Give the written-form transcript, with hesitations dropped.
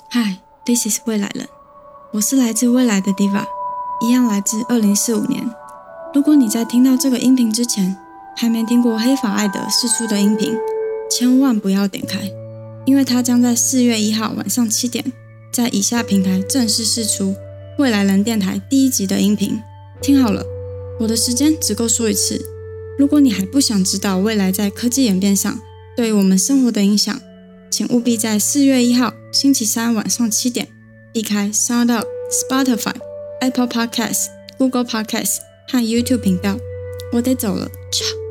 Hi, this is 未來人，我是來自未來的 Diva， 一樣來自2045年。如果你在聽到這個音頻之前，還沒聽過黑髮艾德釋出的音頻，千萬不要點開，因為它將在4月1號晚上7點，在以下平台正式釋出未來人電台第1集的音頻。聽好了，我的時間只夠說一次。如果你還不想知道未來在科技演變上對於我們生活的影響，請務必在4月1號星期三晚上7點，避開 SoundOut、Spotify、Apple Podcasts、Google Podcasts 和 YouTube 頻道。我得走了，ciao。